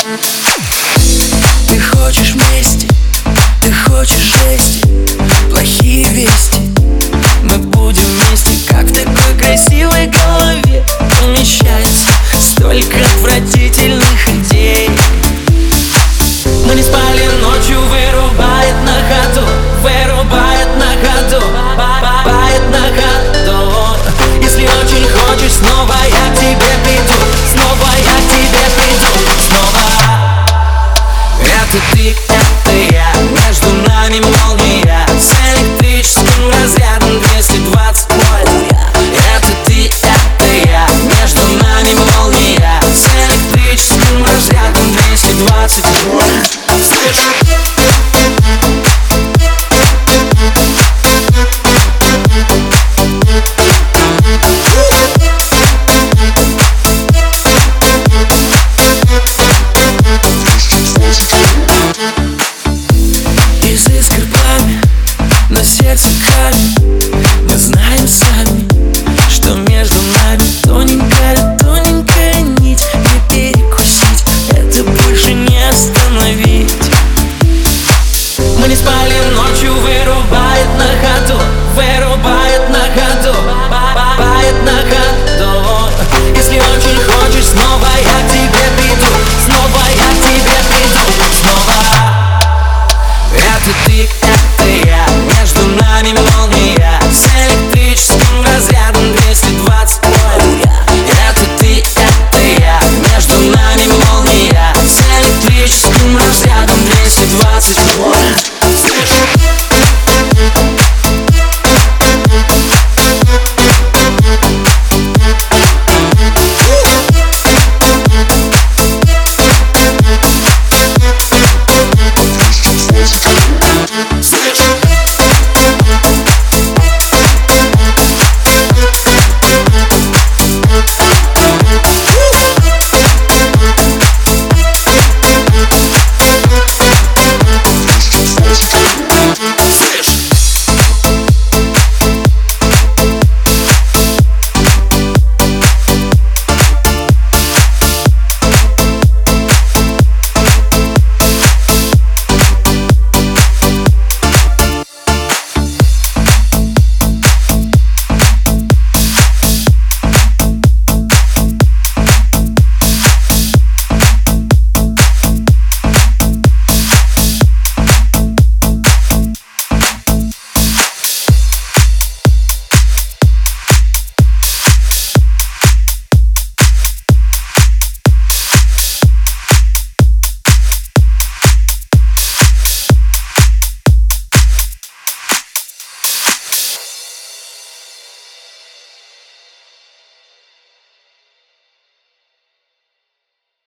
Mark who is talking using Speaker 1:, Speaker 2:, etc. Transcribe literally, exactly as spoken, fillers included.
Speaker 1: Ты хочешь вместе, ты хочешь жести, плохие вести. Мы будем вместе, как в такой красивой голове помещается столько отвратительных идей. Мы не спали ночью, вырубает на ходу, вырубает на ходу, бает на ходу. Если очень хочешь, снова я к тебе приду, снова я к тебе приду, снова. Это ты, это я, между нами молния, с электрическим разрядом двести двадцать вольт. Это ты, это я, между нами молния, с электрическим разрядом двести двадцать.